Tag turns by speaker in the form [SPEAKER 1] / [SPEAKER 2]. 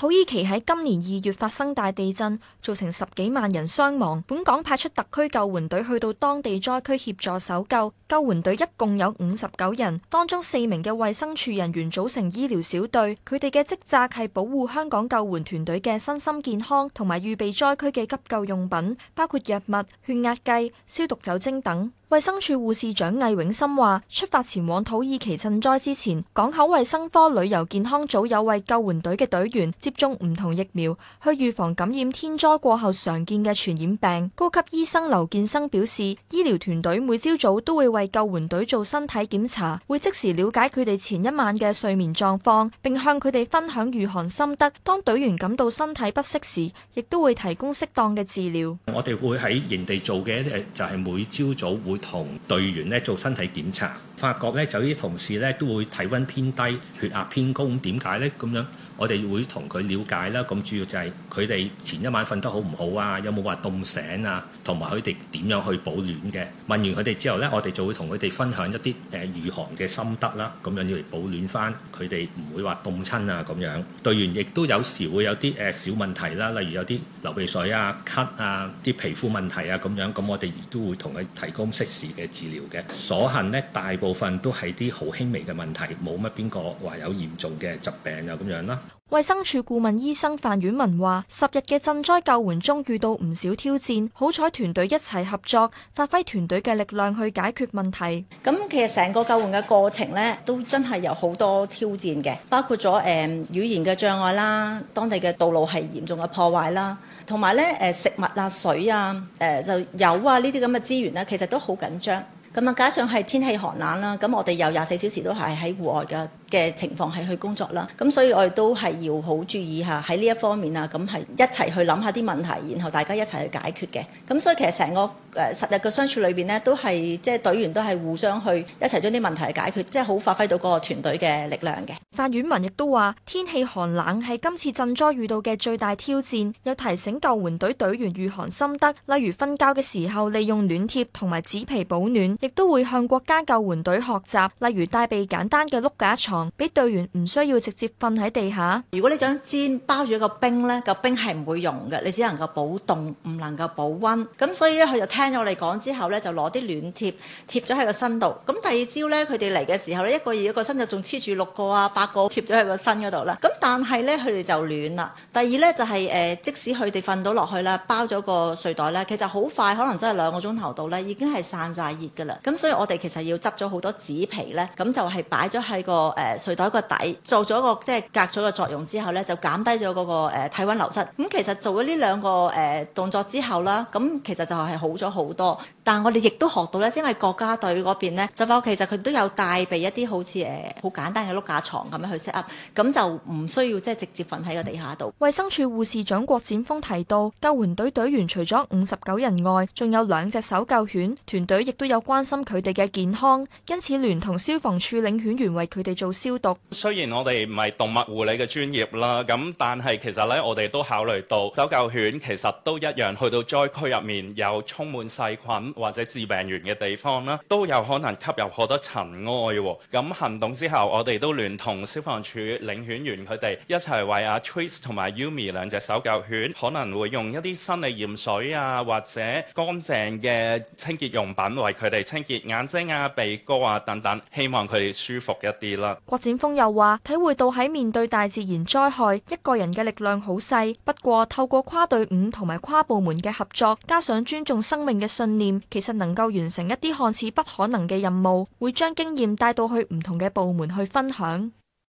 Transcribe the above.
[SPEAKER 1] 土耳其喺今年2月發生大地震，造成10幾萬人傷亡。本港派出特區救援隊去到當地災區協助搜救。救援隊一共有59人，當中4名嘅衛生署人員組成醫療小隊，佢哋嘅職責係保護香港救援團隊嘅身心健康，同埋預備災區嘅急救用品，包括藥物、血壓計、消毒酒精等。衛生署護士長魏永森話：出發前往土耳其賑災之前，港口衛生科旅遊健康組有為救援隊嘅隊員接種唔同疫苗，去預防感染天災過後常見嘅傳染病。高級醫生劉建生表示，醫療團隊每朝早都會為救援隊做身體檢查，會即時了解佢哋前一晚嘅睡眠狀況，並向佢哋分享御寒心得。當隊員感到身體不適時，亦都會提供適當嘅治療。
[SPEAKER 2] 我哋會喺營地做嘅就係每朝早會同隊員咧做身體檢查，發覺咧就啲同事咧都會體溫偏低、血壓偏高，咁點解咧？咁樣我哋會同佢了解啦。咁主要就係佢哋前一晚瞓得好唔好啊？有冇話凍醒啊？同埋佢哋點樣去保暖嘅？問完佢哋之後咧，我哋就會同佢哋分享一啲御寒嘅心得啦。咁樣要嚟保暖翻，佢哋唔會話凍親啊咁樣。隊員亦都有時會有啲小問題啦，例如有啲流鼻水啊、咳啊、啲皮膚問題啊咁樣。咁我哋亦都會同佢提供適時嘅治療嘅。所幸呢，大部分都係啲好輕微嘅問題，冇乜邊個話有嚴重嘅疾病啊咁樣啦。
[SPEAKER 1] 衛生署顧問醫生范婉文話：10日嘅賑災救援中遇到唔少挑戰，好彩團隊一齊合作，發揮團隊嘅力量去解決問題。
[SPEAKER 3] 咁其實成個救援嘅過程呢，都真係有好多挑戰嘅，包括咗語言嘅障礙啦，當地嘅道路係嚴重嘅破壞啦，同埋咧食物啊、水啊、就油啊呢啲咁嘅資源呢，其實都好緊張。咁啊，加上係天氣寒冷啦，咁我哋有24小時都係喺戶外嘅情況係去工作啦，咁所以我哋都係要好注意下喺呢一方面啊，咁係一齊去諗下啲問題，然後大家一齊去解決嘅。咁所以其實成個10日嘅相處裏邊呢，都係即係隊員都係互相去一齊將啲問題解決，即係好發揮到嗰個團隊嘅力量嘅。
[SPEAKER 1] 范婉文亦都話：天氣寒冷係今次賑災遇到嘅最大挑戰，又提醒救援隊隊員御寒心得，例如瞓覺嘅時候利用暖貼同埋紙皮保暖，亦都會向國家救援隊學習，例如帶備簡單嘅碌架床，俾隊員唔需要直接瞓喺地下。
[SPEAKER 3] 如果你將氈包住一個冰呢，個冰係唔會溶嘅，你只能夠保凍，唔能夠保溫。咁所以咧，佢就聽咗我哋講之後咧，就攞啲暖貼貼咗喺個身度。咁第二朝咧，佢哋嚟嘅時候咧，一個身就仲黐住6個啊、8個貼咗喺個身嗰度啦。咁但係咧，佢哋就暖啦。第二咧就係即使佢哋瞓到落去啦，包咗個睡袋咧，其實好快，可能真係2個鐘頭度咧，已經係散晒熱㗎啦。咁所以我哋其實要執咗好多紙皮咧，咁就係擺咗喺個睡袋個底，做咗個即係隔咗個作用之後咧，就減低咗嗰個體溫流失。咁其實做咗呢2個動作之後啦，咁其實就係好咗好多。但係我哋亦都學到咧，因為國家隊嗰邊咧，就其實佢都有帶備一啲好似好簡單嘅碌架床咁樣去 set up，咁就唔需要即係直接瞓喺個地下度。
[SPEAKER 1] 衛生署護士長郭展峰提到，救援隊隊員除咗59人外，仲有2隻搜救犬，團隊亦都有關心佢哋嘅健康，因此聯同消防處領犬員為佢哋做消毒。
[SPEAKER 4] 雖然我哋唔係動物護理嘅專業啦，咁但係其實咧，我哋都考慮到搜救犬其實都一樣去到災區入面有充滿細菌或者致病源嘅地方啦，都有可能吸入好多塵埃喎。咁行動之後，我哋都聯同消防處領犬員佢哋一齊為阿 Trace 同埋 Yumi 2隻搜救犬，可能會用一啲生理鹽水啊，或者乾淨嘅清潔用品為佢哋清潔眼睛啊、鼻哥啊等等，希望佢哋舒服一啲啦。
[SPEAKER 1] 郭展峰又話：體會到喺面對大自然災害，一個人嘅力量好細，不過透過跨隊伍同埋跨部門嘅合作，加上尊重生命嘅信念，其實能夠完成一啲看似不可能嘅任務，會將經驗帶到去唔同嘅部門去分享。